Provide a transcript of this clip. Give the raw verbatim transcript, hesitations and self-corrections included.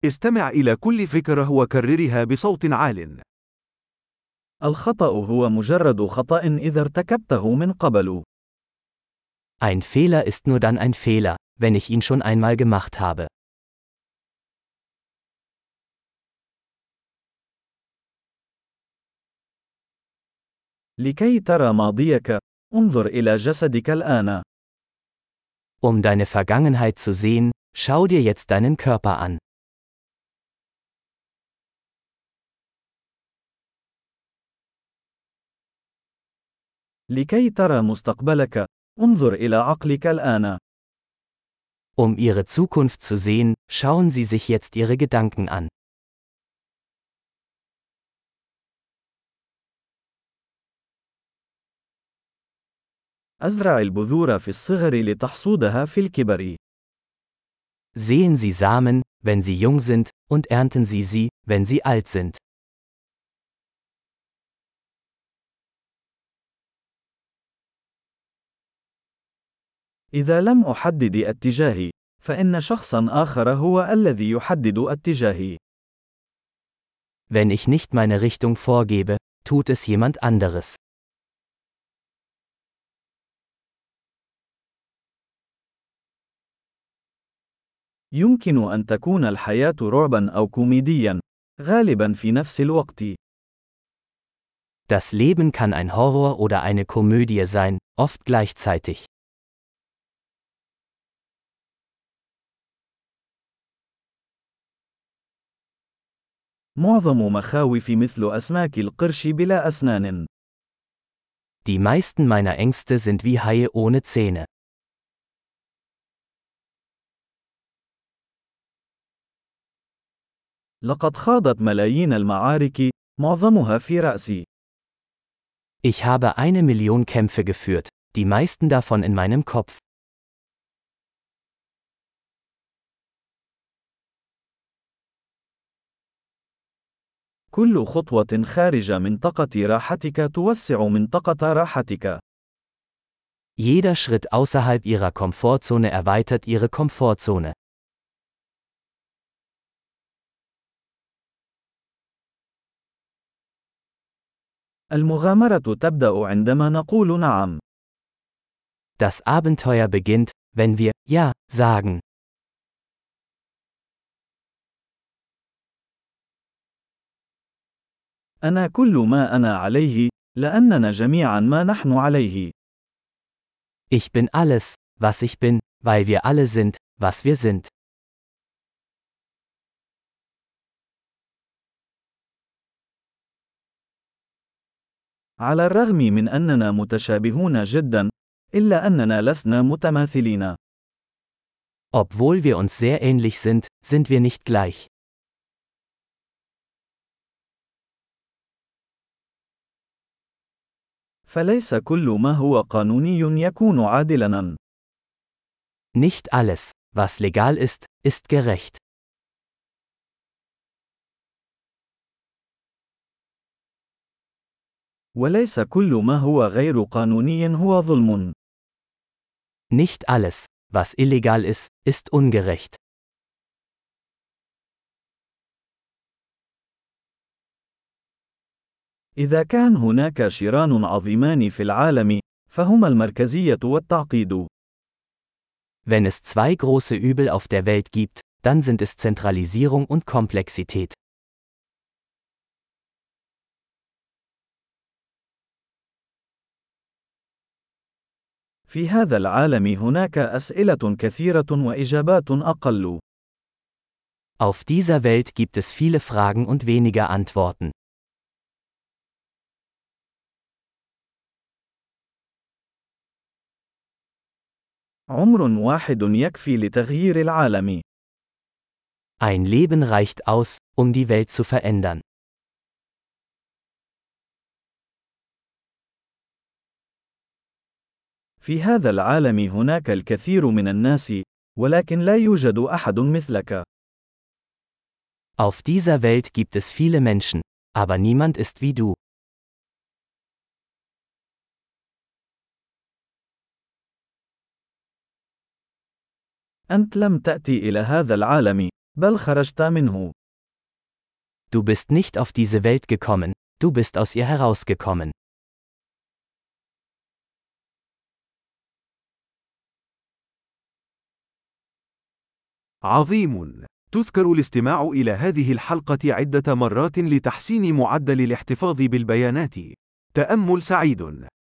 استمع إلى كل فكرة وكررها بصوت عال. الخطأ هو مجرد خطأ إذا ارتكبته من قبل. Ein Fehler ist nur dann ein Fehler, wenn ich ihn schon einmal gemacht habe. لكي ترى ماضيك، انظر إلى جسدك الآن. Um deine Vergangenheit zu sehen, schau dir jetzt deinen Körper an. لكي ترى مستقبلك، انظر إلى عقلك الآن. Um ihre Zukunft zu sehen, schauen Sie sich jetzt Ihre Gedanken an. أزرع البذور في الصغر لتحصودها في الكبر. Sehen Sie Samen, wenn sie jung sind, und ernten Sie sie, wenn sie alt sind. إذا لم أحدد اتجاهي، فإن شخصا آخر هو الذي يحدد اتجاهي. Wenn ich nicht meine Richtung vorgebe, tut es jemand anderes. يمكن أن تكون الحياة رعبا أو كوميديا، غالبا في نفس الوقت. Das Leben kann ein Horror oder eine Komödie sein, oft gleichzeitig. معظم مخاوف مثل أسماك القرش بلا أسنان. Die meisten meiner Ängste sind wie Haie ohne Zähne. لقد خاضت ملايين المعارك، معظمها في رأسي. Ich habe eine Million Kämpfe geführt, die meisten davon in meinem Kopf. كل خطوة خارج منطقة راحتك توسع منطقة راحتك. Jeder Schritt außerhalb Ihrer Komfortzone erweitert Ihre Komfortzone. المغامرة تبدأ عندما نقول نعم. Das Abenteuer beginnt, wenn wir Ja sagen. أنا كل ما أنا عليه، لأننا جميعا ما نحن عليه. Ich bin alles, was ich bin, weil wir alle sind, was wir sind. على الرغم من أننا متشابهون جدا، إلا أننا لسنا متماثلين. Obwohl wir uns sehr ähnlich sind, sind wir nicht gleich. فليس كل ما هو قانوني يكون عادلاً. Nicht alles, was legal ist, ist gerecht. وليس كل ما هو غير قانوني هو ظلم. Nicht alles, was illegal ist, ist ungerecht. إذا كان هناك شران عظيمان في العالم، فهما المركزية والتعقيد. Wenn es zwei große Übel auf der Welt gibt, dann sind es Zentralisierung und Komplexität. في هذا العالم هناك أسئلة كثيرة وإجابات أقل. Auf dieser Welt gibt es viele Fragen und weniger Antworten. عمر واحد يكفي لتغيير العالم. Ein Leben reicht aus, um die Welt zu verändern. في هذا العالم هناك الكثير من الناس، ولكن لا يوجد أحد مثلك. Auf dieser Welt gibt es viele Menschen, aber niemand ist wie du. أنت لم تأتي إلى هذا العالم، بل خرجت منه. Du bist nicht auf diese Welt gekommen, du bist aus ihr herausgekommen. عظيم. تذكر الاستماع إلى هذه الحلقة عدة مرات لتحسين معدل الاحتفاظ بالبيانات. تأمل سعيد.